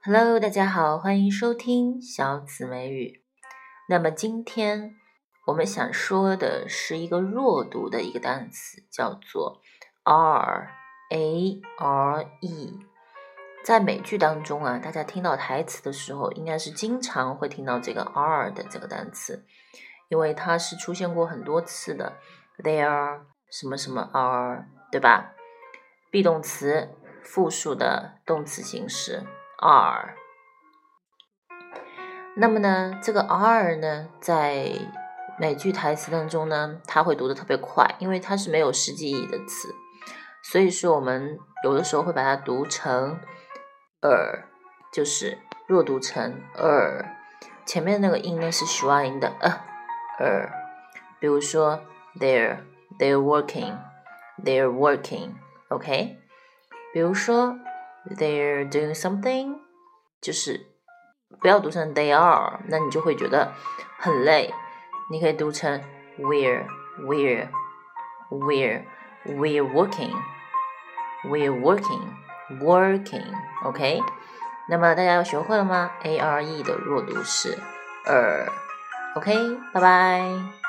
Hello， 大家好，欢迎收听小紫美语。那么今天我们想说的是一个弱读的一个单词，叫做 R-A-R-E。在美剧当中啊，大家听到台词的时候，应该是经常会听到这个 R 的这个单词，因为它是出现过很多次的。There 什么什么 are， 对吧？be动词复数的动词形式 are。那么呢，这个 R 呢，在美剧台词当中呢，它会读得特别快，因为它是没有实际意义的词，所以说我们有的时候会把它读成就是弱读成前面那个音呢是schwa音的比如说 they're working OK， 比如说 they're doing something， 就是不要读成 they are， 那你就会觉得很累，你可以读成 we're working OK， 那么大家要学会了吗？ ARE 的弱读是OK， 拜拜。